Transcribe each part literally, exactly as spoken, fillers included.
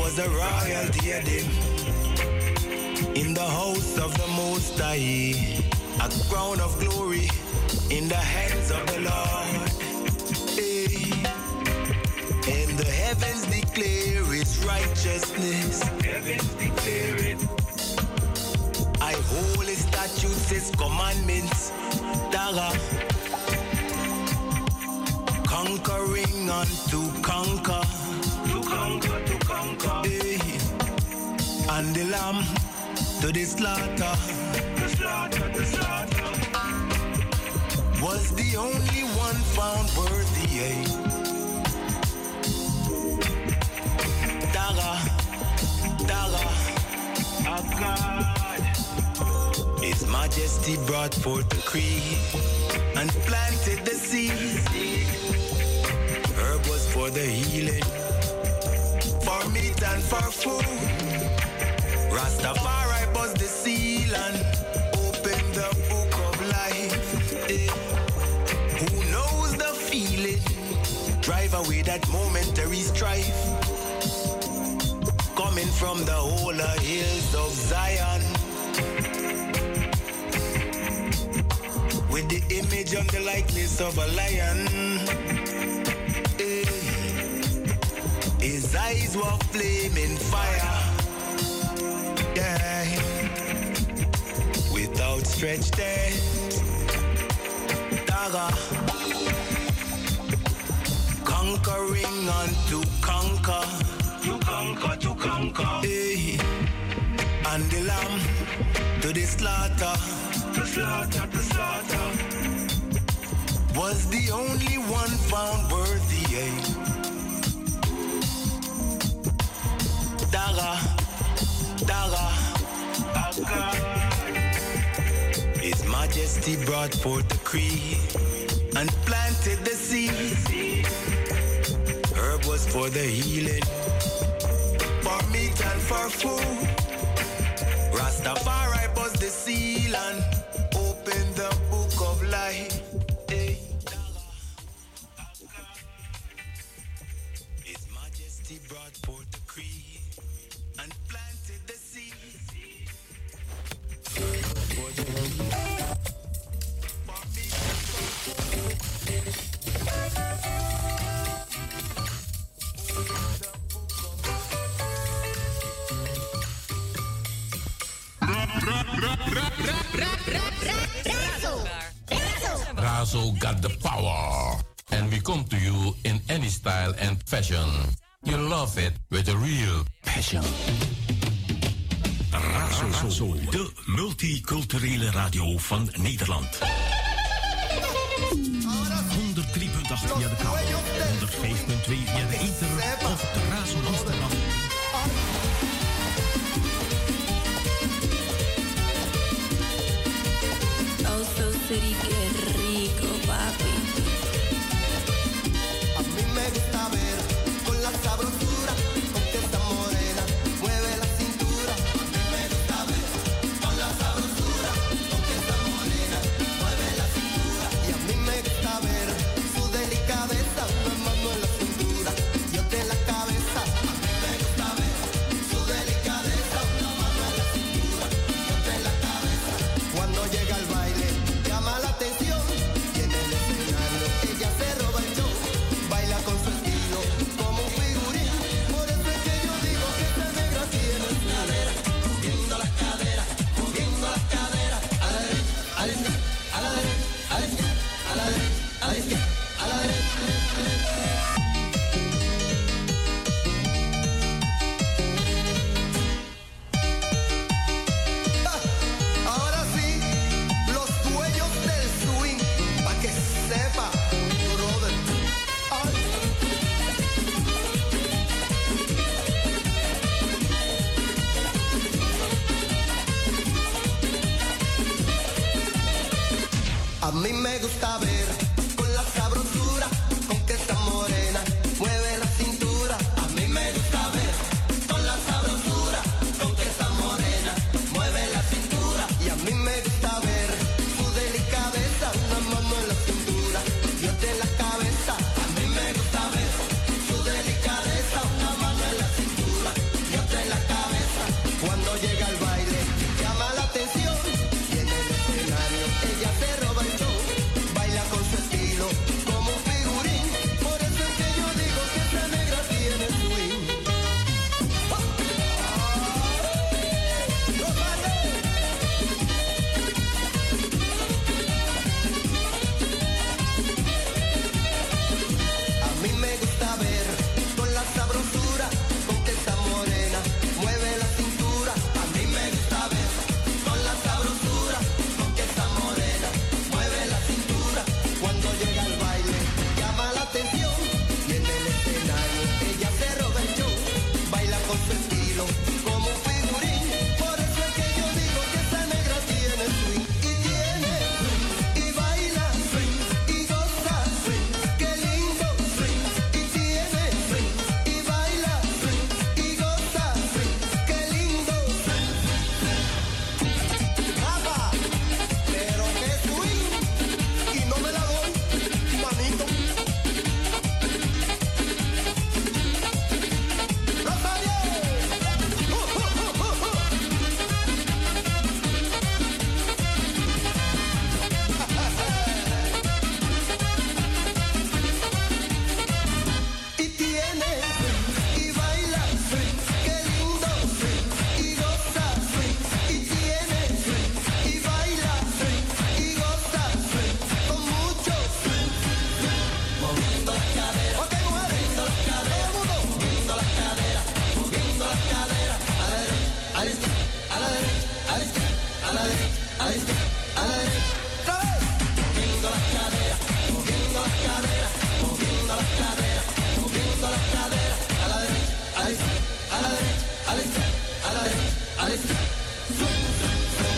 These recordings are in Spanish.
was a royal diadem in the house of the Most High, a crown of glory in the hands of the Lord. Hey. And the heavens declare His righteousness. Heavens declare it. I hold His statutes, His commandments. Dara. Conquering on to conquer. To conquer, to conquer. Hey. And the lamb to the slaughter. The slaughter, the slaughter. Was the only one found worthy. Hey. Dara, Dara, our God. His Majesty brought forth the creed and planted the seed. Herb was for the healing, for meat and for food. Rastafari was the seal and opened the book of life. Eh. Who knows the feeling? Drive away that momentary strife. Coming from the holy hills of Zion, with the image and the likeness of a lion. Hey. His eyes were flaming fire, yeah. With outstretched hands, Dara, conquering on to conquer. To conquer, to conquer. Hey. And the lamb to the slaughter. To slaughter, to slaughter. Was the only one found worthy. Hey. Dara, Dara, our God. His Majesty brought forth the creed and planted the seed. Herb was for the healing, for meat and for food. Rastafari was the seal and opened the book of life. Hey. His Majesty brought forth the creed and planted the seed. For the for meat and for food. Razo got the power. And we come to you in any style and fashion. You love it with a real passion. Razo, de multiculturele radio van Nederland. honderd drie punt acht via de kabel, honderd vijf punt twee via de ether of de Razo Amsterdam. Oh, so city, qué rico, papi. A mí me gusta ver con la sabrosura con que esta morena mueve la cintura. A mí me gusta ver con la sabrosura con que esta morena mueve la cintura. Y a mí me gusta ver su delicadeza, una mano en la cintura y otra en la cabeza. con su estilo, como un figurín. Por eso es que yo digo que esa negra tiene swing. Y tiene swing, y baila swing, y goza swing. Qué lindo swing. Y tiene swing, y baila swing, y goza swing. Qué lindo swing. Papá, pero qué swing. Y no me la doy, manito. Rosario. Uh, uh, uh, uh, uh. Y tiene swing, y baila swing, qué lindo swing, y goza swing. Y tiene swing, y baila swing, y goza swing, con mucho swing. Moviendo las caderas, ok, mujeres, moviendo las caderas, moviendo las caderas, moviendo las caderas, a la derecha, a la izquierda, a la derecha, a la izquierda, a la derecha, a la izquierda, a la derecha. ¡Otra vez! Moviendo las caderas, moviendo las caderas, moviendo las caderas, moviendo las caderas, a la derecha, a la izquierda, a la derecha, a la izquierda, a la derecha, a la izquierda. Swing, swing, swing.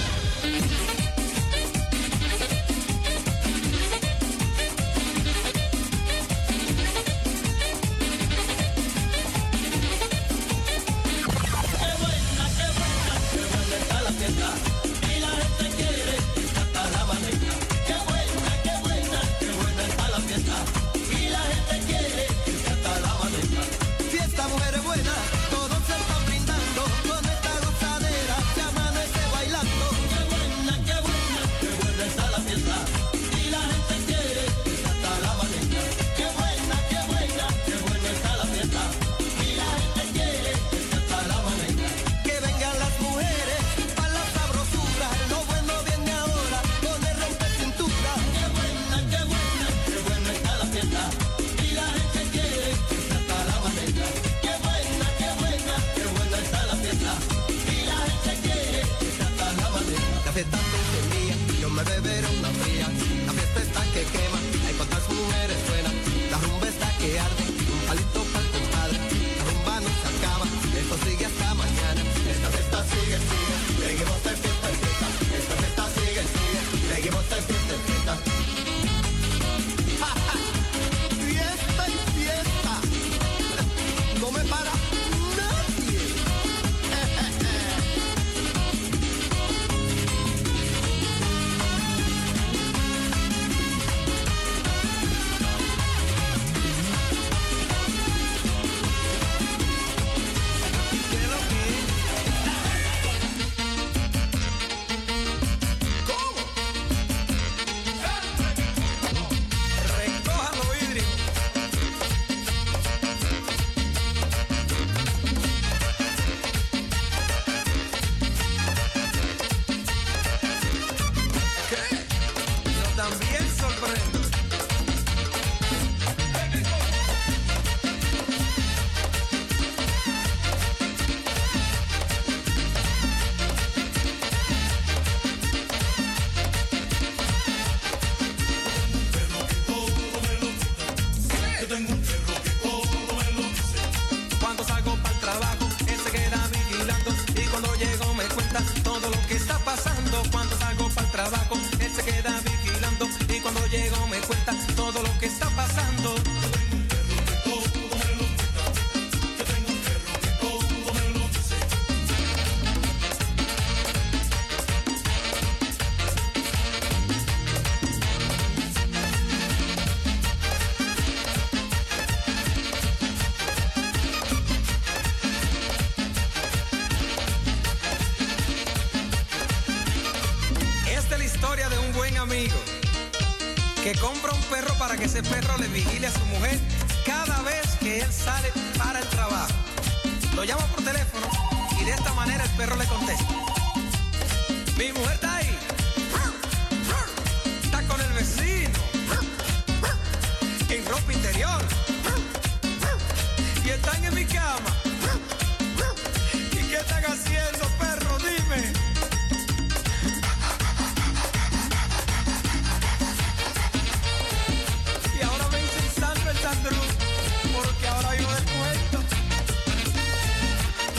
Fiesta, mujeres buenas, todos se están brindando con esta gozadera, se amanece bailando. Qué buena, qué buena, qué buena está la fiesta. Y la gente quiere que hasta la amanezca. Qué buena, qué buena, qué buena está la fiesta. Y la gente quiere que hasta la amanezca. Que vengan las mujeres para la sabrosura. Lo bueno viene ahora con el rompe cintura. Qué buena, qué buena, qué buena está la fiesta. Y la gente quiere que hasta la amanezca. Qué buena, qué buena, qué buena está la fiesta. Y la gente quiere que hasta la amanezca. La fiesta es mía, yo me beberé una fría. La fiesta está que quema, hay cuantas mujeres suenan. La rumba está que arde, un palito para el compadre. La rumba no se acaba, esto sigue hasta mañana. Esta fiesta sigue, sigue, seguimos de fiesta en fiesta. Esta fiesta sigue, sigue, seguimos de fiesta en fiesta. ¡Ja, ja! Fiesta y fiesta, no me para nadie. ¿Qué es lo que es? ¿Cómo? Recojan los vidrios. ¿Qué? Yo también sorprendo. Cuando salgo para el trabajo, él se queda vigilando. Y cuando llego me cuenta todo lo que está pasando. Cuando salgo para el trabajo, él se queda vigilando. Y cuando llego me cuenta todo lo que está pasando. Esta es la historia de un buen amigo que compra un perro para que ese perro le vigile a su mujer cada vez que él sale para el trabajo. Lo llama por teléfono y de esta manera el perro le contesta: mi mujer está ahí, está con el vecino, en ropa interior, y están en mi cama. ¿Y qué están haciendo, perro? Dime. Y ahora me dicen Sandro el Sandro, porque ahora vivo del cuento.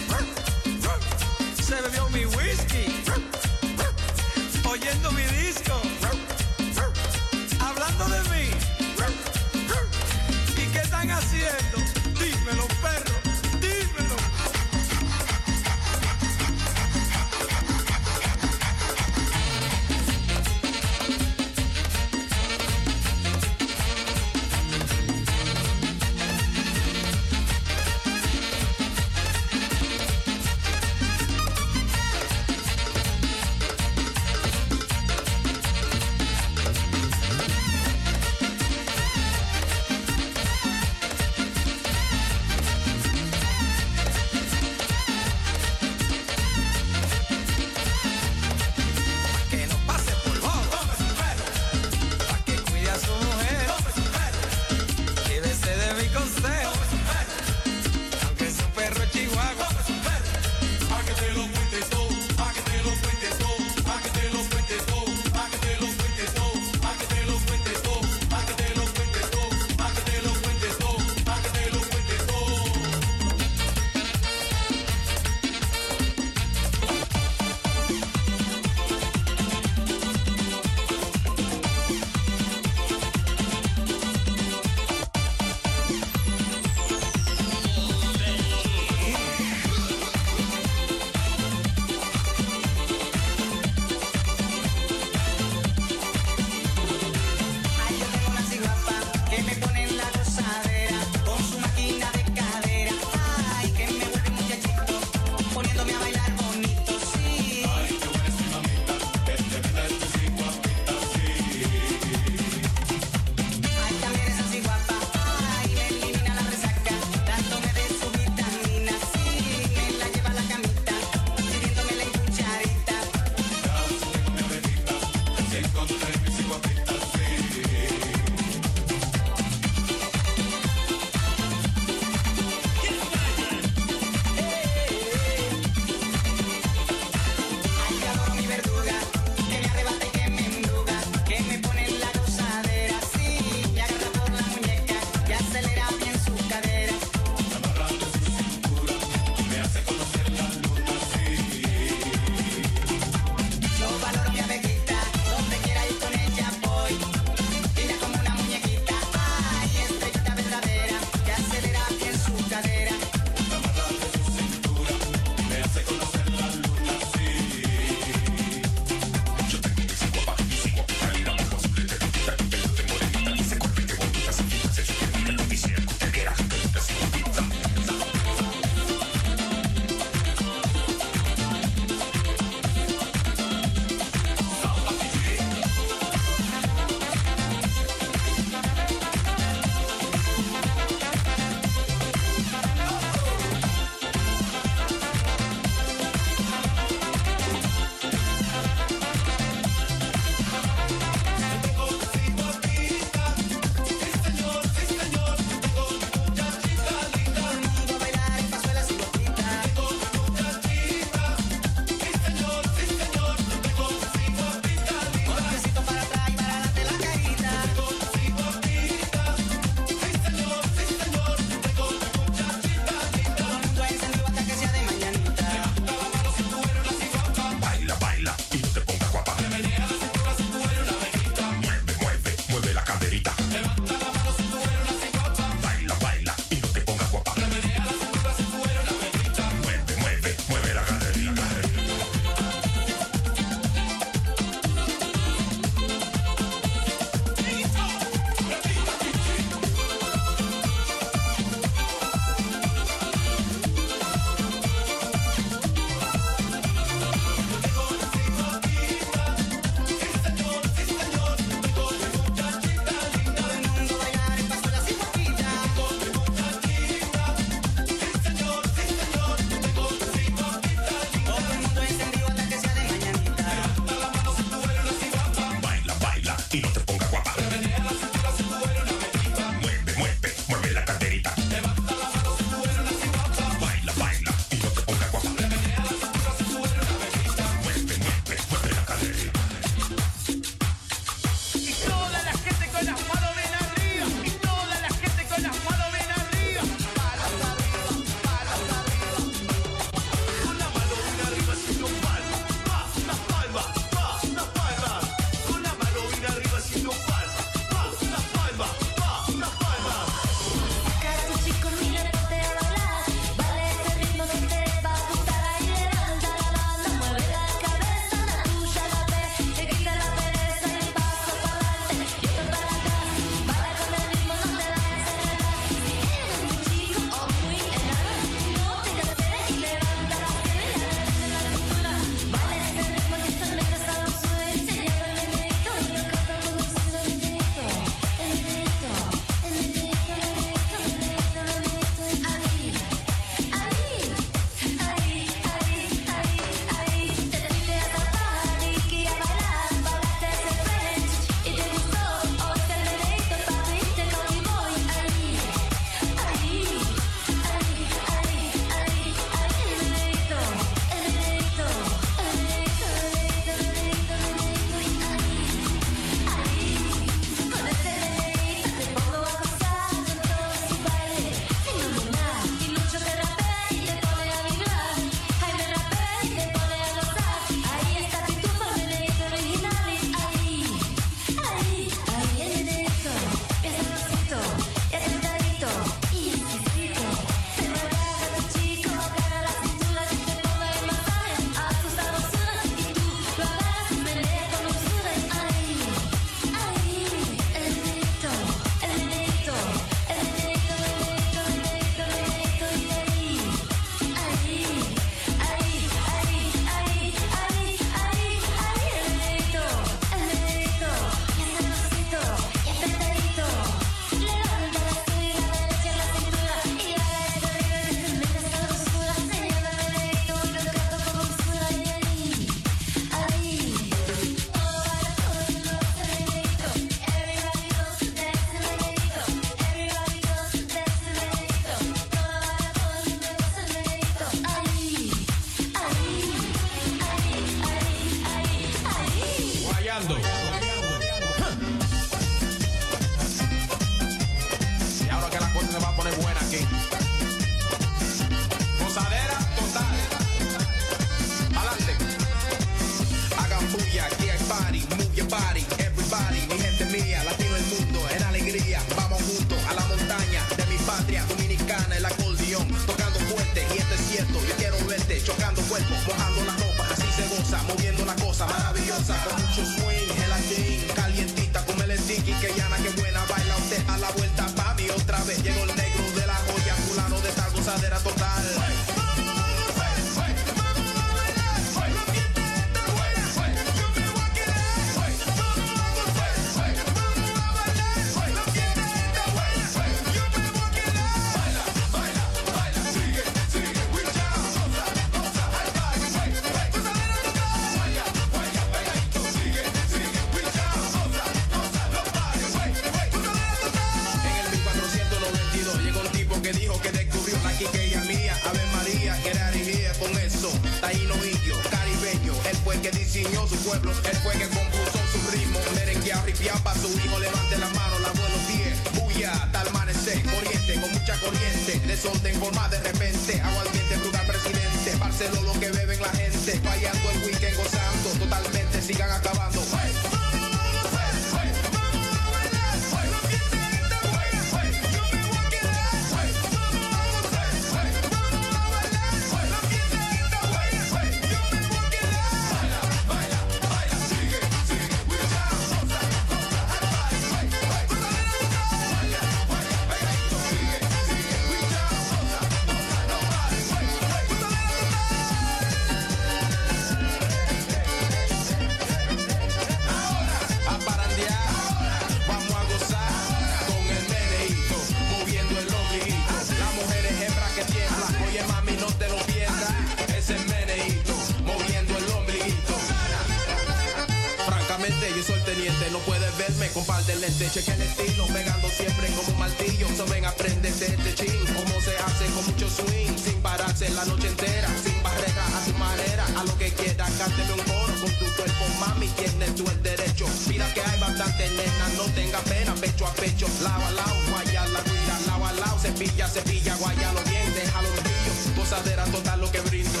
de lente, cheque el estilo, pegando siempre como un martillo. So ven, aprende de este chin, cómo se hace con mucho swing, sin pararse la noche entera, sin barrera, a tu manera, a lo que quieras, cánteme un coro con tu cuerpo, mami, tienes tú el derecho. Mira que hay bastante nena, no tenga pena, pecho a pecho, lado a lado, guaya la guira, lado a lado, cepilla, cepilla, guayalo bien, déjalo brillo, gozadera total lo que brindo.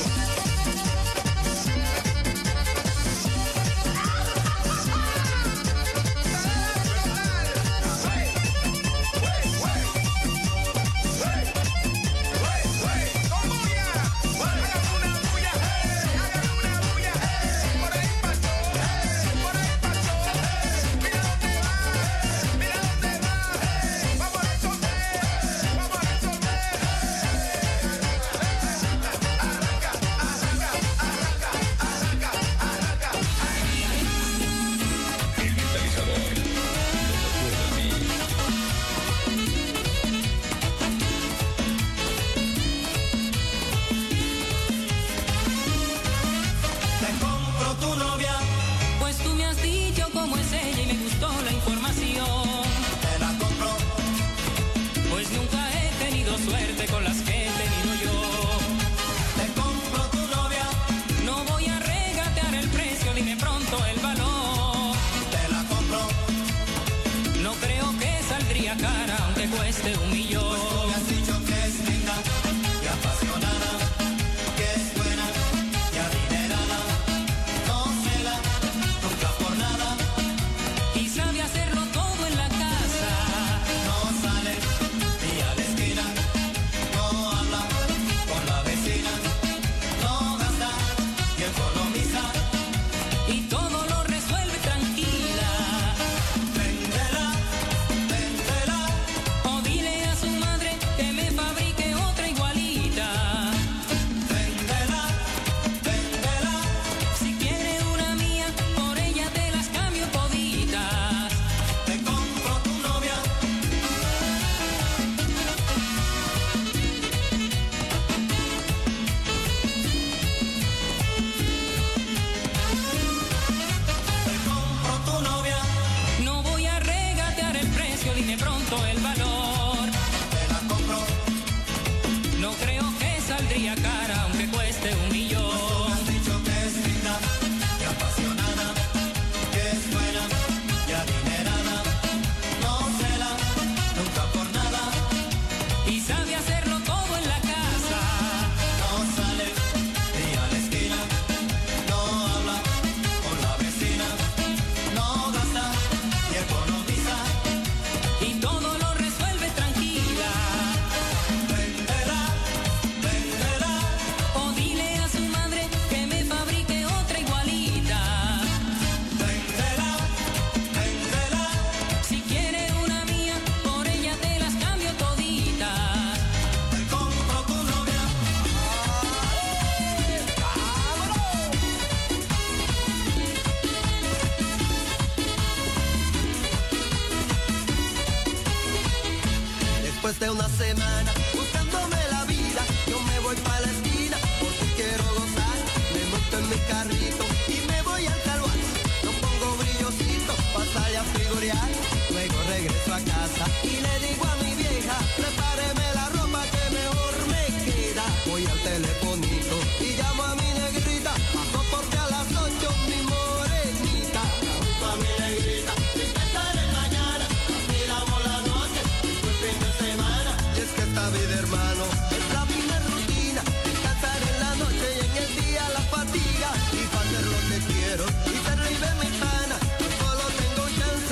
Después de una semana buscándome la vida, yo me voy para la esquina porque quiero gozar. Me monto en mi carrito y me voy al calvario. No pongo brillosito para salir a figurear. Luego regreso a casa y le digo a mi vieja, prepáreme la ropa que mejor me queda. Voy al telefonito y llamo a mi negrita, paso porque a las ocho mi morenita. Junto a mi negrita, sin pensar en mañana, miramos la noche y fue el fin de semana. Y es que esta vida, hermano, es la misma rutina, descansar en la noche y en el día la fatiga. Y para hacer lo que quiero y ser libre mi pana, yo solo tengo chance.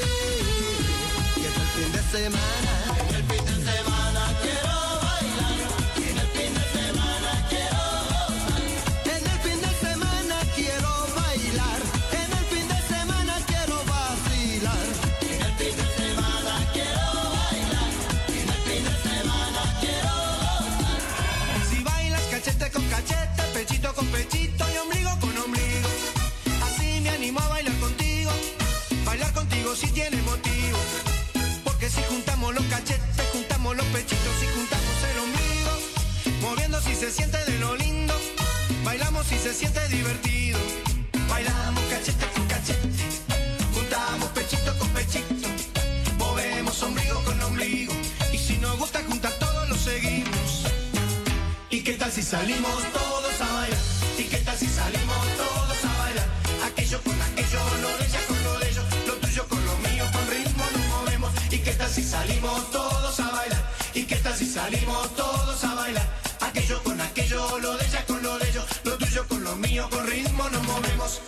Y es el fin de semana, en el fin de semana quiero bailar, en el fin de semana quiero gozar. En el fin de semana quiero bailar, en el fin de semana quiero vacilar. En el fin de semana quiero bailar, en el fin de semana quiero gozar. Si bailas cachete con cachete, pechito con pechito y ombligo con ombligo, así me animo a bailar contigo. Bailar contigo si tiene motivo, porque si juntamos los cachetes, juntamos los pechitos y juntamos el ombligo, moviendo si se siente de lo lindo, bailamos si se siente divertido. Bailamos cachete con cachete, juntamos pechito con pechito, si salimos todos a bailar? ¿Y qué tal si salimos todos a bailar? Aquello con aquello, lo de ella con lo de ellos, lo tuyo con lo mío, con ritmo nos movemos. ¿Y qué tal si salimos todos a bailar? ¿Y qué tal si salimos todos a bailar? Aquello con aquello, lo de ella con lo de ellos, lo tuyo con lo mío, con ritmo nos movemos.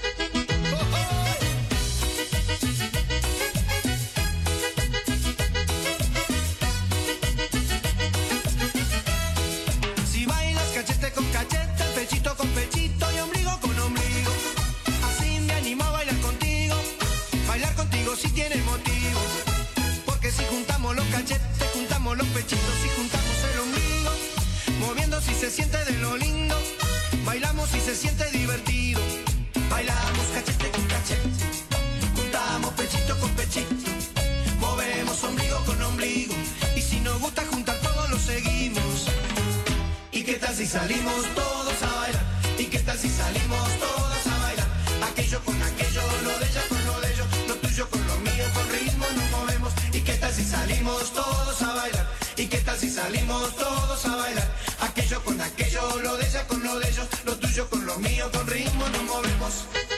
Si bailas cachete con cachete, pechito con pechito y ombligo con ombligo, así me animo a bailar contigo. Bailar contigo si tiene motivo, porque si juntamos los cachetes, juntamos los pechitos y juntamos el ombligo, moviendo si se siente de lo lindo, bailamos si se siente divertido. Bailamos cachete con cachete, juntamos pechito con pechito, movemos ombligo con ombligo, y si nos gusta juntar todo lo seguimos. ¿Y qué tal si salimos todos a bailar? ¿Y qué tal si salimos todos a bailar? Aquello con aquello, lo de ella con lo de ellos, lo tuyo con lo mío, con ritmo nos movemos. ¿Y qué tal si salimos todos a bailar? ¿Y qué tal si salimos todos a bailar? Aquello con aquello, lo de ella con lo de ellos, lo tuyo con lo mío, con ritmo nos movemos.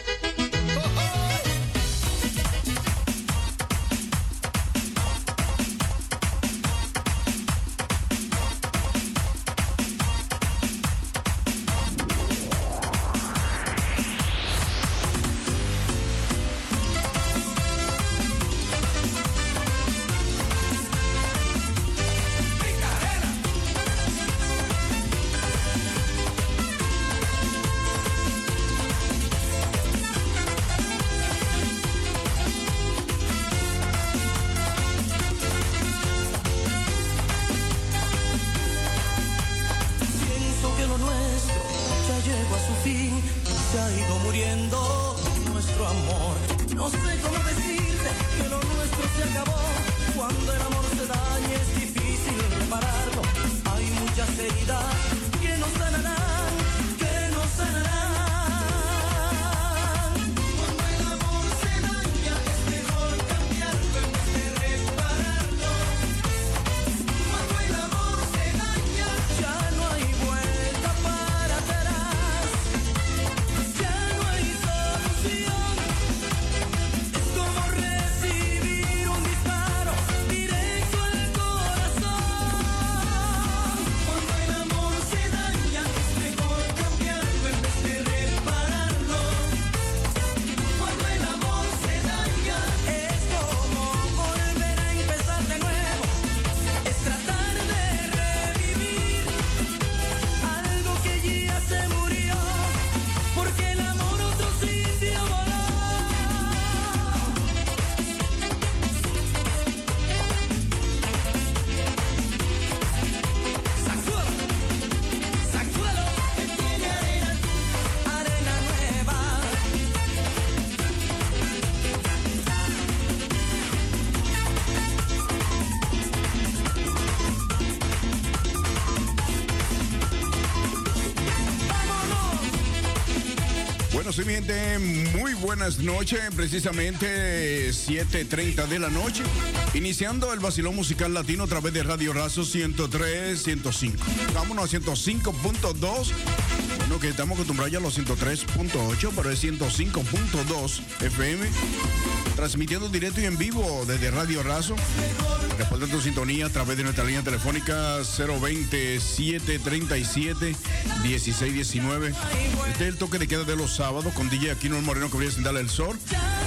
Sí, mi gente, muy buenas noches, precisamente siete treinta de la noche, iniciando el vacilón musical latino a través de Radio Razo ciento tres, ciento cinco. Vámonos a ciento cinco punto dos, bueno, que estamos acostumbrados ya a los ciento tres punto ocho, pero es ciento cinco punto dos F M, transmitiendo directo y en vivo desde Radio Razo. Después de tu sintonía a través de nuestra línea telefónica cero veinte, siete treinta y siete, dieciséis diecinueve. Este es el toque de queda de los sábados con D J Aquino el Moreno, que brilla sin darle el sol.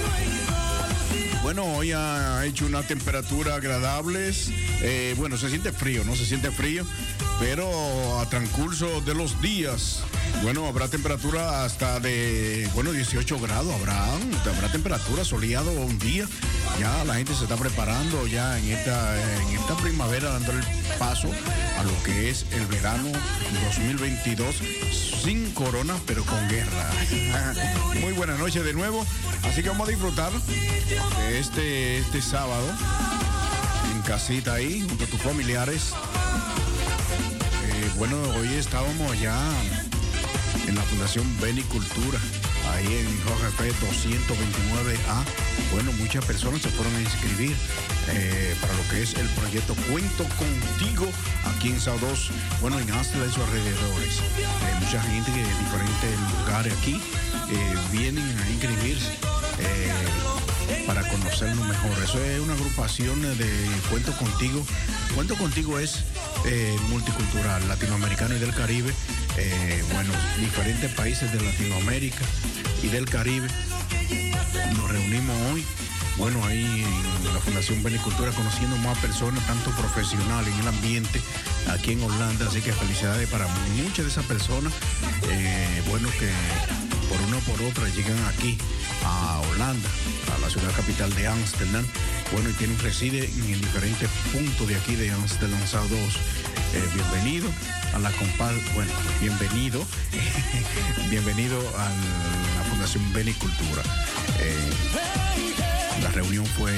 Bueno, hoy ha hecho una temperatura agradable. Eh, bueno, se siente frío, ¿no? Se siente frío, pero a transcurso de los días, bueno, habrá temperatura hasta de, bueno, dieciocho grados, habrá, habrá temperatura soleado un día. Ya la gente se está preparando ya en esta, en esta primavera, dando el paso a lo que es el verano dos mil veintidós, sin corona, pero con guerra. Muy buenas noches de nuevo, así que vamos a disfrutar de este, este sábado en casita ahí, junto a tus familiares. Eh, bueno, hoy estábamos ya en la Fundación Benicultura, ahí en Jorge F. doscientos veintinueve A. Bueno, muchas personas se fueron a inscribir eh, para lo que es el proyecto Cuento Contigo aquí en Saudos, bueno, en Amsterdam y sus alrededores. Eh, mucha gente de diferentes lugares aquí eh, vienen a inscribirse eh, para conocernos mejor. Eso es una agrupación de Cuento Contigo. Cuento Contigo es eh, multicultural, latinoamericano y del Caribe. Eh, bueno, diferentes países de Latinoamérica y del Caribe. Nos reunimos hoy, bueno, ahí en la Fundación Benicultura, conociendo más personas, tanto profesionales en el ambiente, aquí en Holanda. Así que felicidades para muchas de esas personas, eh, bueno, que por una o por otra llegan aquí a Holanda, a la ciudad capital de Ámsterdam. Bueno, y tienen, reside en diferentes puntos de aquí de Ámsterdam, Saudos. Eh, bienvenido a la compa, bueno, bienvenido, bienvenido a la Fundación Benicultura. Eh, la reunión fue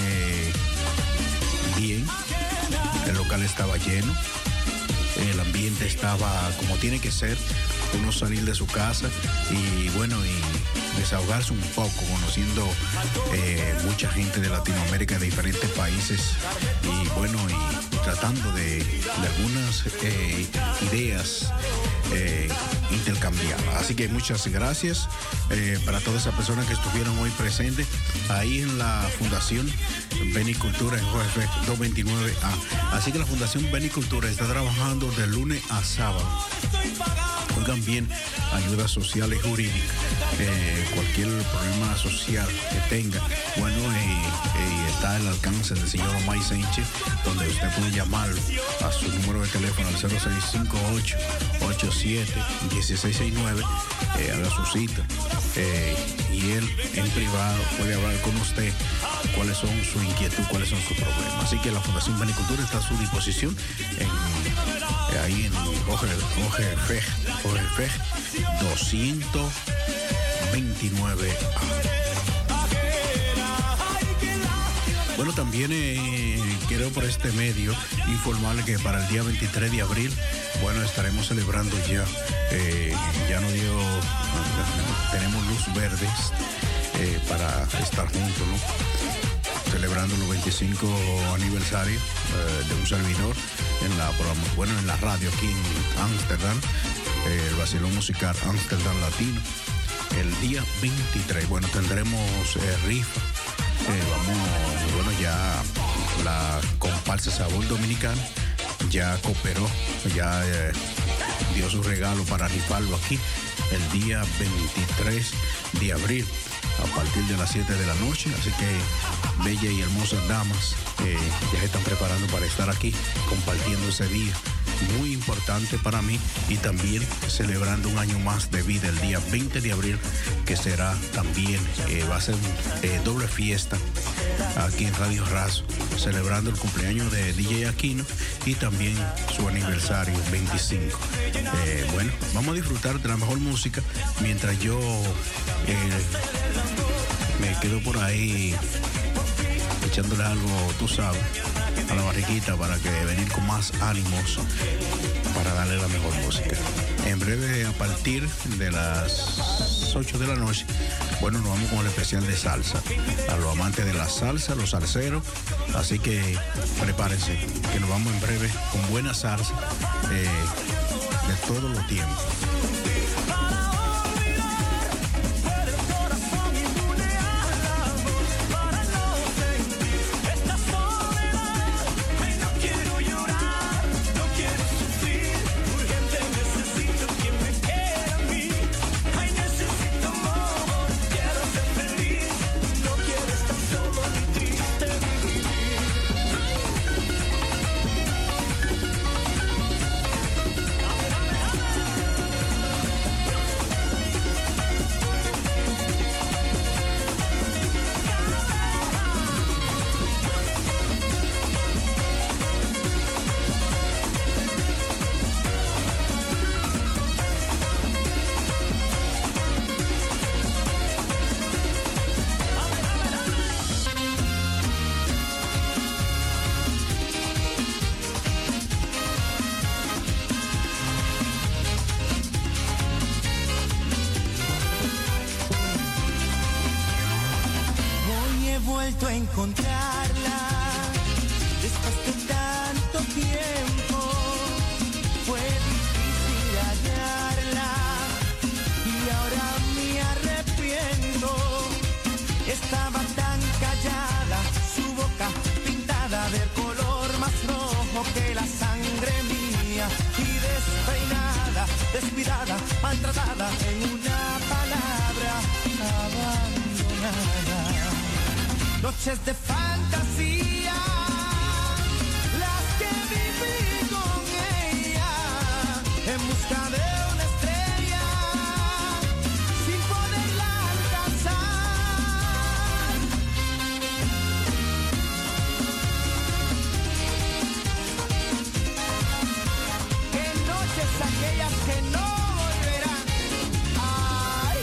bien, el local estaba lleno, el ambiente estaba como tiene que ser, uno salir de su casa y bueno, y desahogarse un poco, conociendo eh, mucha gente de Latinoamérica, de diferentes países, y bueno, y tratando de, de algunas eh, ideas eh, intercambiadas. Así que muchas gracias eh, para todas esas personas que estuvieron hoy presentes ahí en la Fundación Benicultura en J F doscientos veintinueve A. Así que la Fundación Benicultura está trabajando de lunes a sábado. Oigan bien, ayuda social y jurídica, eh, cualquier problema social que tenga, bueno, eh, eh, está al alcance del señor Omay Sánchez, donde usted puede llamar a su número de teléfono al cero seis cinco ocho, ocho siete, uno seis seis nueve, eh, haga su cita, eh, y él en privado puede hablar con usted cuáles son sus inquietudes, cuáles son sus problemas. Así que la Fundación Benicultura está a su disposición en, eh, ahí en O G F doscientos veintinueve A. Bueno, también eh, quiero por este medio informarle que para el día veintitrés de abril, bueno, estaremos celebrando ya, eh, ya nos dio, tenemos luz verdes eh, para estar juntos, ¿no? Celebrando los veinticinco aniversarios eh, de un servidor en la bueno en la radio aquí en Ámsterdam, eh, el vacilón musical Ámsterdam Latino, el día veintitrés. Bueno, tendremos eh, rifa, eh, vamos, bueno, ya la comparsa Sabor Dominicano ya cooperó, ya eh, dio su regalo para rifarlo aquí el día veintitrés de abril a partir de las siete de la noche. Así que bellas y hermosas damas eh, ya se están preparando para estar aquí compartiendo ese día muy importante para mí, y también celebrando un año más de vida el día veinte de abril, que será también, eh, va a ser eh, doble fiesta aquí en Radio Razo, celebrando el cumpleaños de D J Aquino y también su aniversario veinticinco. Eh, bueno, vamos a disfrutar de la mejor música mientras yo eh, me quedo por ahí echándole algo, tú sabes, a la barriguita, para que venir con más ánimos para darle la mejor música. En breve, a partir de las ocho de la noche, bueno, nos vamos con el especial de salsa, a los amantes de la salsa, los salseros. Así que prepárense, que nos vamos en breve con buena salsa eh, de todos los tiempos. nada del color más rojo que la sangre mía. Y despeinada, descuidada, maltratada, en una palabra, abandonada. Noches de fantasía, las que viví con ella, en busca de una estrella, sin poderla alcanzar. Qué noches aquellas que no volverán. Ay.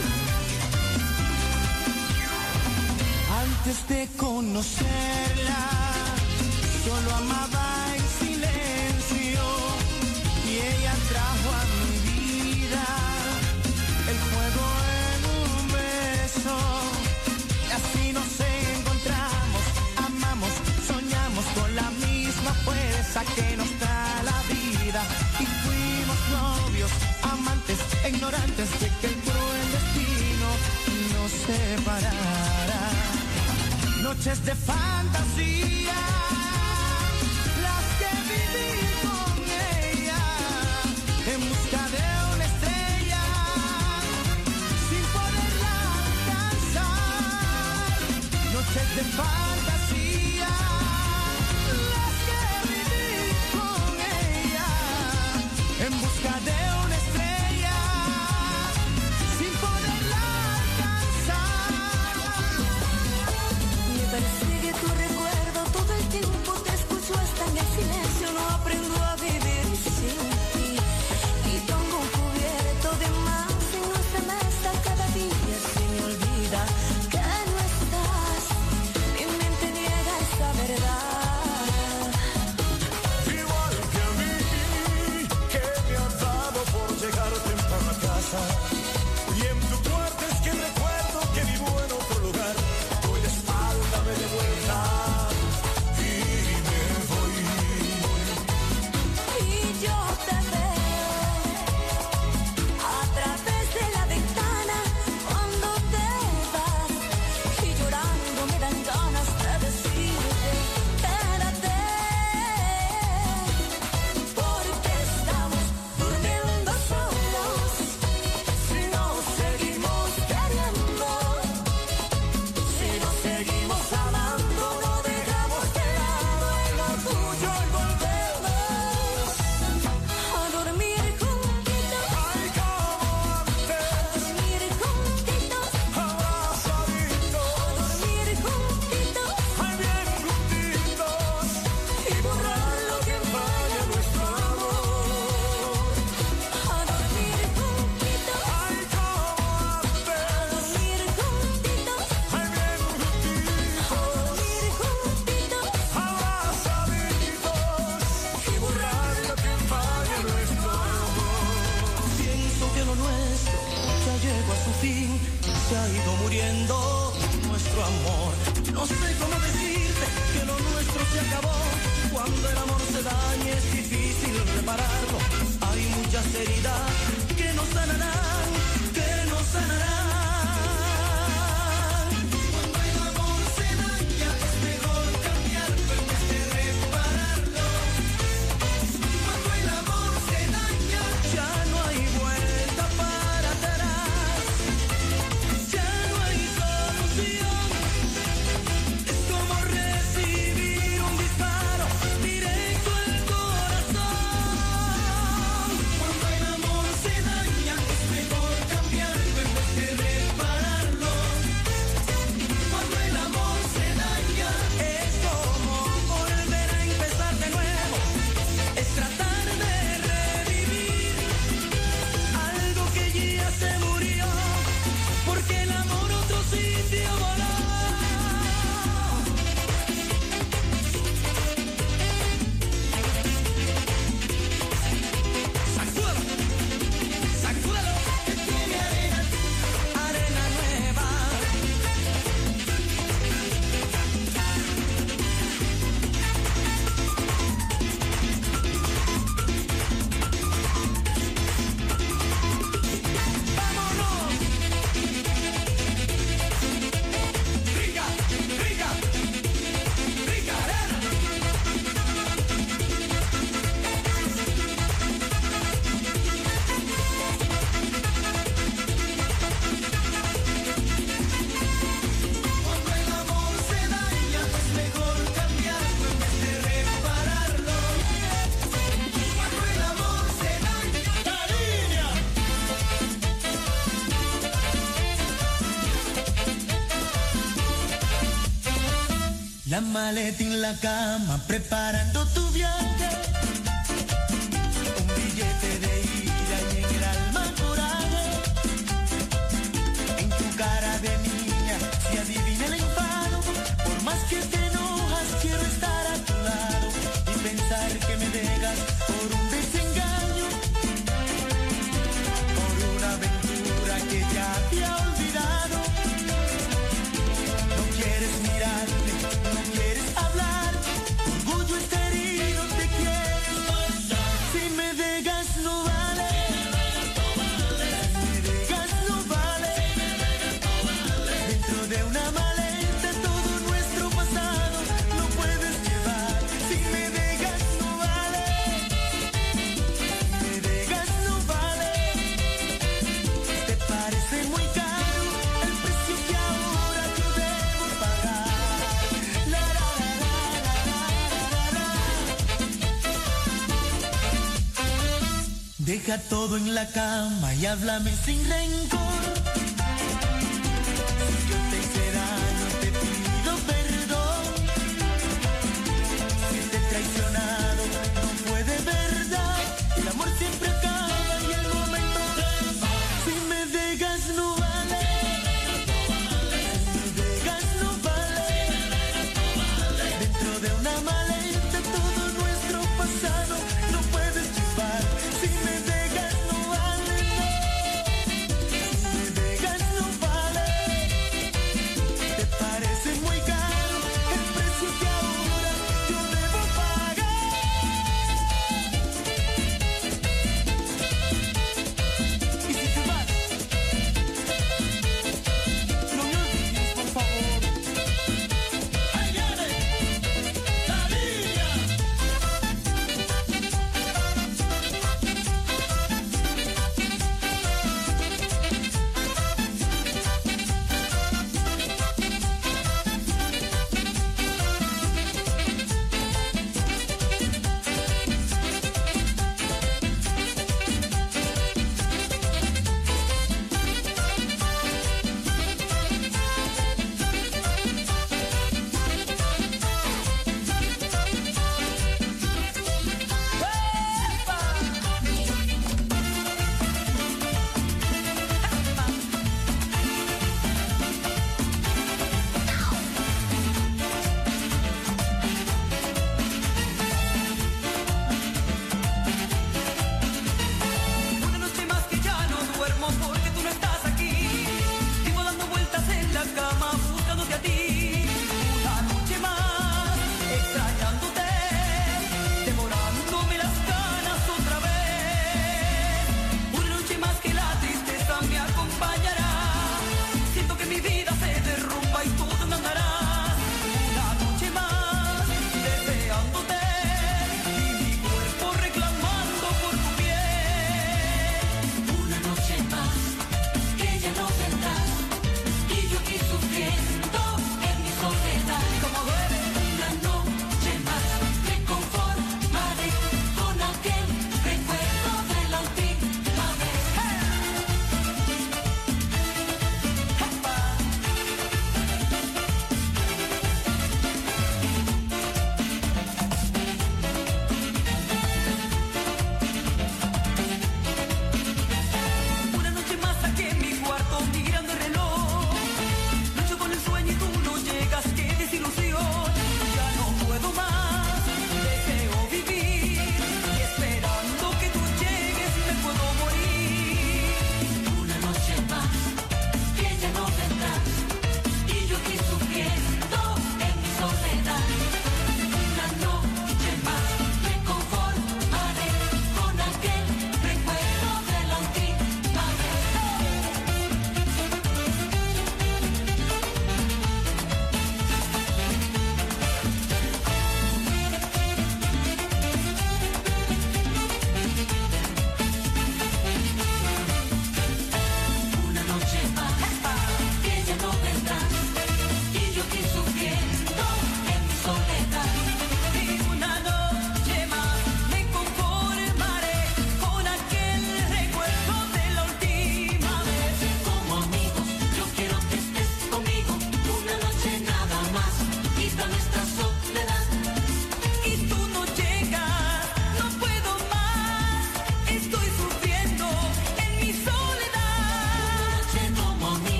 Antes de conocerla, solo amaba en silencio, y ella trajo a mi vida el fuego en un beso. Y así nos encontramos, amamos, soñamos con la misma fuerza que nos da la vida. Y fuimos novios, amantes, ignorantes de que el cruel destino nos separara. Noches de fantasía, las que viví con ella, en busca de una estrella, sin poderla alcanzar. Noches de fantasía, las que viví con ella, en busca de una estrella, sin poderla alcanzar. Me persigue tu recuerdo la maleta en la cama, preparando tu viaje. Un billete de ida y en el alma coraje. En tu cara de niña se adivina el enfado. Por más que te enojas, quiero estar a tu lado y pensar que me dejas por un desengaño, por una aventura que ya te ha olvidado. No quieres mirarme, no quieres hablar, tu orgullo está herido, te quieres marchar. Si me dejas no vale, si me dejas no vale, dentro de una maleta todo nuestro pasado lo puedes llevar. Si me dejas no vale, si me dejas no vale, te parece muy caro el precio que ahora yo debo pagar. La, la, la, la, la, la, la. Deja todo en la cama y háblame sin rencor. Si yo te hice daño, te pido perdón. Si te he traicionado, no fue de verdad. El amor siempre acaba y el momento se va. Si me dejas no vale, si me dejas no vale, dentro de una maleta todo nuestro pasado no puedes llevar. Si me dejas no vale, si me dejas no vale, te parece muy caro el precio que ahora yo debo pagar.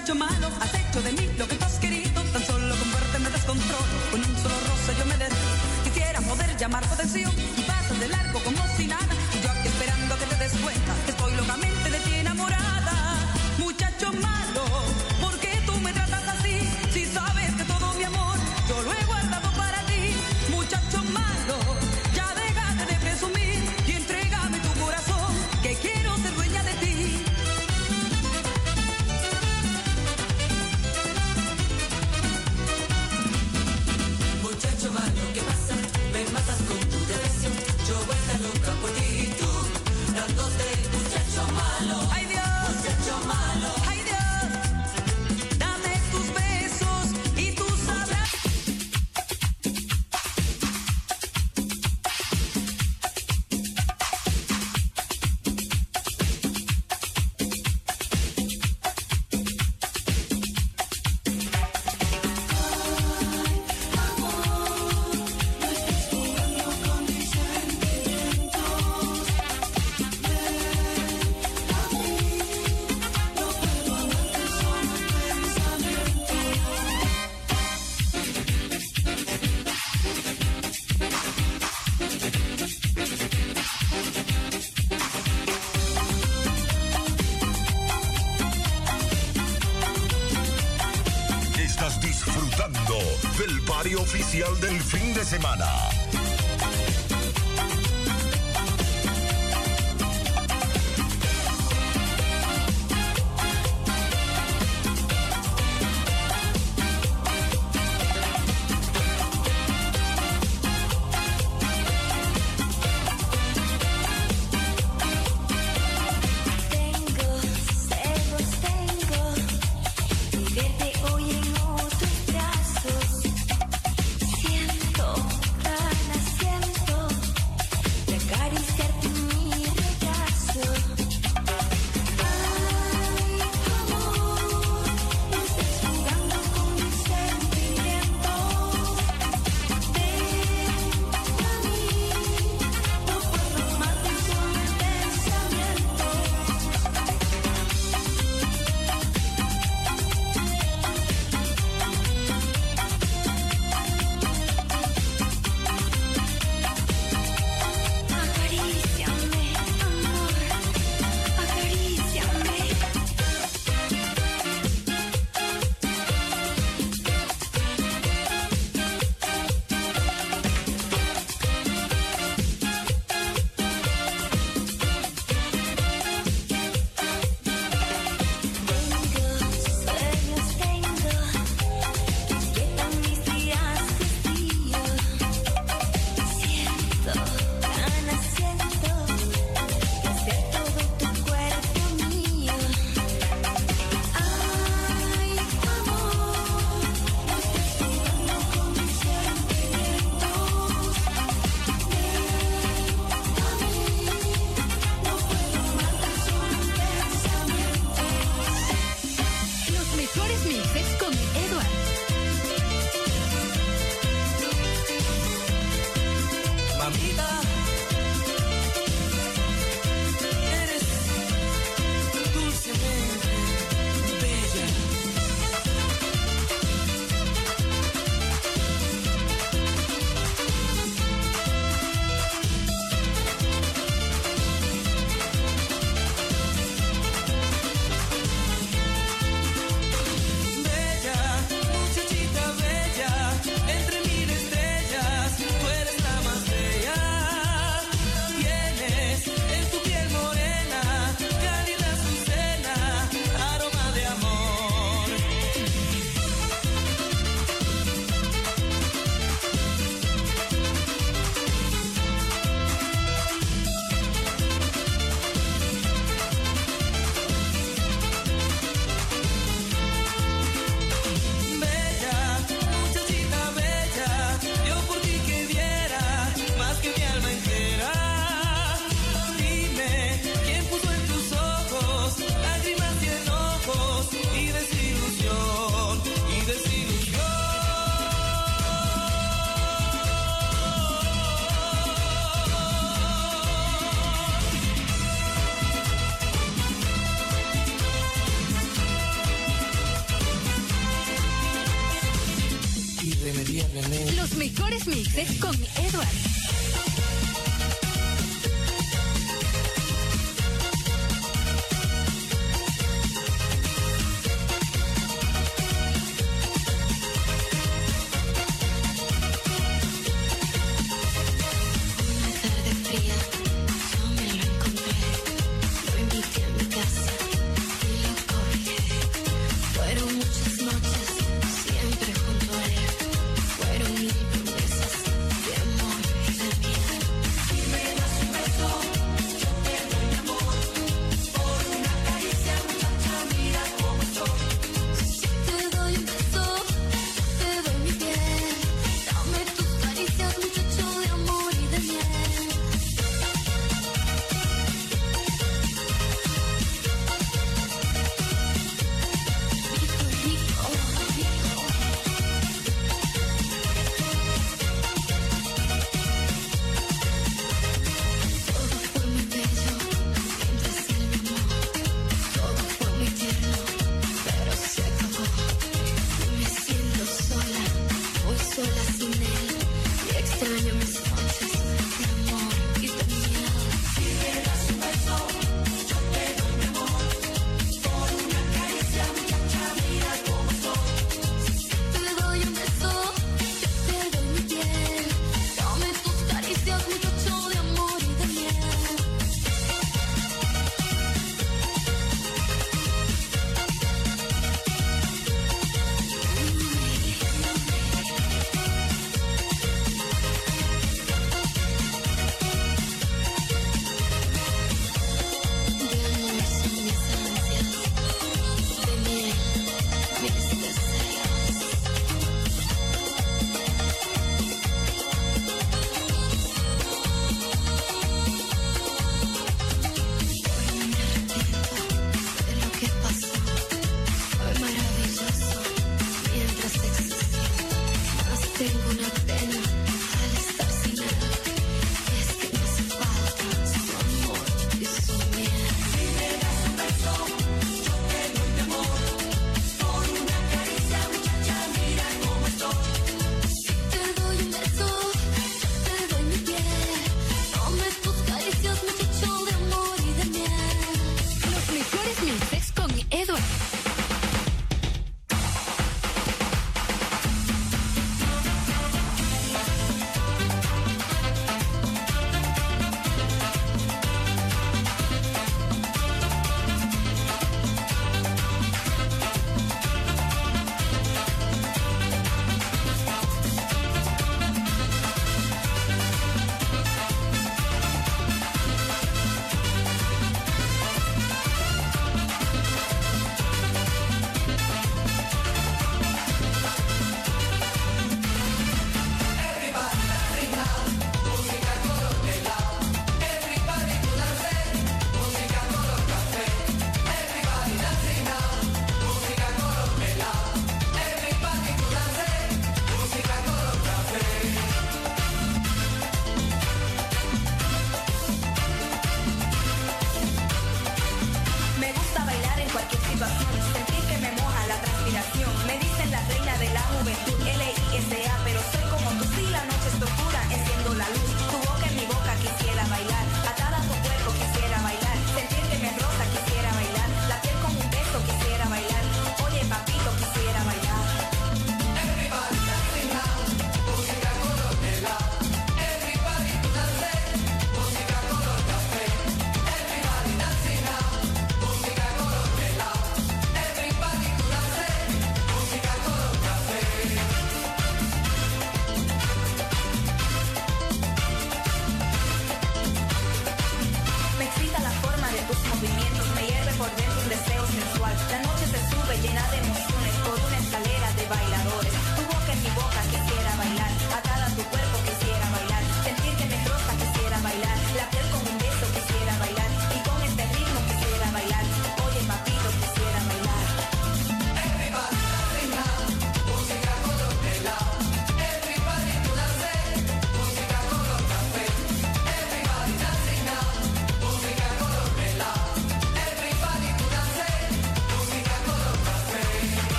Muchacho malo, has hecho de mí lo que tú has querido. Tan solo con verte me descontrolo. Con un solo roce yo me derrito. Quisiera poder llamar tu atención y pasas de largo como si nada. Y yo aquí esperando que te des cuenta que estoy locamente de ti enamorada. Muchacho malo, ¿por qué tú me tratas así? Si sabes que todo mi amor yo lo he guardado para ti. Muchacho malo, ya déjate de presumir y entrégame tu corazón, que quiero ser dueña de ti. Muchacho malo, ¿qué pasa? Me matas con tu depresión. Yo vuelta loca por ti y tú dándote. Muchacho malo, ay Dios, muchacho malo, ay Dios, dame tus besos y tus abrazos. Estás disfrutando del party oficial del fin de semana. Tengo, celos tengo, y verte hoy en otros brazos. Siento ganas María René. Los mejores mixes con Edward. Fueron mil promesas de amor y de vida.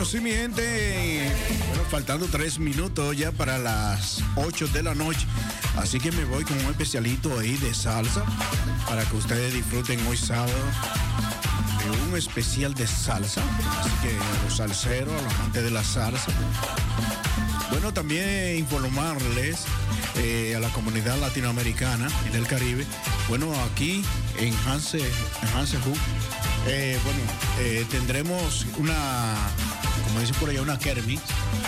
sí, mi gente. Bueno, faltando tres minutos ya para las ocho de la noche. Así que me voy con un especialito ahí de salsa para que ustedes disfruten hoy sábado de un especial de salsa. Así que a los salseros, a los amantes de la salsa. Bueno, también informarles eh, a la comunidad latinoamericana y del Caribe. Bueno, aquí en Hanse, en Hanse Hook, eh, bueno, eh, tendremos una, como dice por allá, una kermis.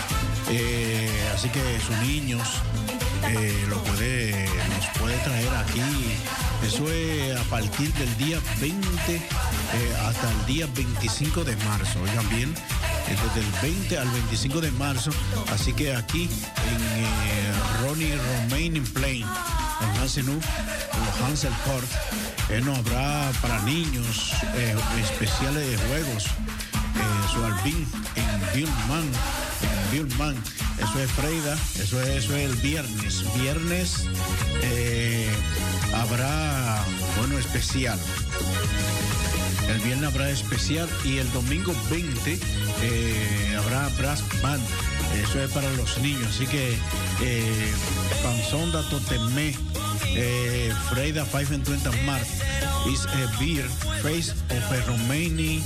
Eh, así que sus niños eh, lo puede, los puede traer aquí. Eso es a partir del día veinte eh, hasta el día veinticinco de marzo. Oigan bien, desde el veinte al veinticinco de marzo. Así que aquí en eh, Ronnie Romaining Plain, en Hansenhoop, en Hansel Court, eh, no habrá para niños eh, especiales de juegos. Eh, su albín en Billman, en Billman. Eso es Freida, eso es, eso es el viernes. Viernes eh, habrá, bueno, especial. El viernes habrá especial y el domingo veinte eh, habrá brass band. Eso es para los niños. Así que eh, Panzonda Totemé, eh, Freida five and twenty Mark is a beer face of a Romani,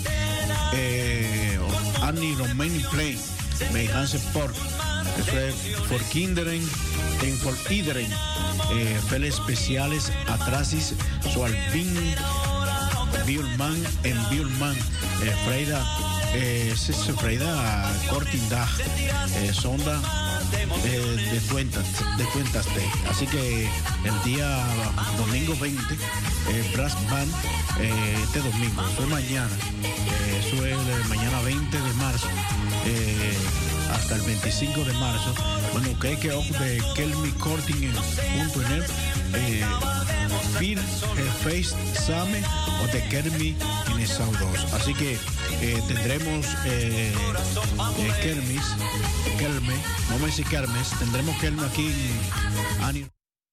eh, of Annie Romani Play, by Hansen Port. Eso es for Kinderen en for Ideren. Eh, Feles especiales atrasis su albín Billman en Billman. Eh, Freida, eh, Freida Cortindag, eh, Sonda eh, de cuentas, de cuentas de. Así que el día domingo veinte, eh, Brass Band, eh, este domingo, eso es mañana, eh, eso es el mañana veinte de marzo. Eh, hasta el veinticinco de marzo. Bueno, que que off de Kelmi Corting en punto net, eh, Fir, el Face Same o de Kermi en el South dos. Así que eh, tendremos eh, eh, Kermis, Kelme, no me dice Kermes, tendremos Kelme aquí en Ani.